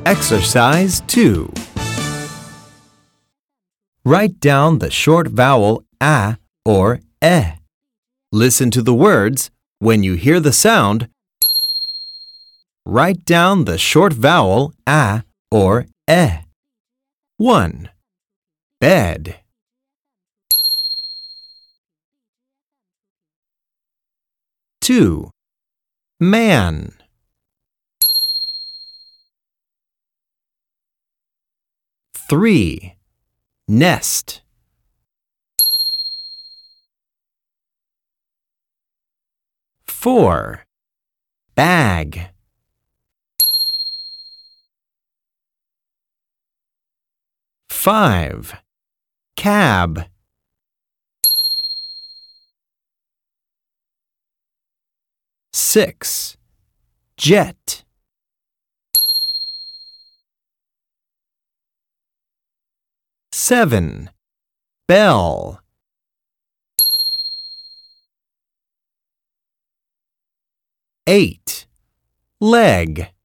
Exercise 2. Write down the short vowel a or e. Listen to the words. When you hear the sound, write down the short vowel a or e. 1. Bed. 2. Man. 3. Nest. 4. Bag. 5. Cab. 6. Jet. 7. Bell. 8. Leg.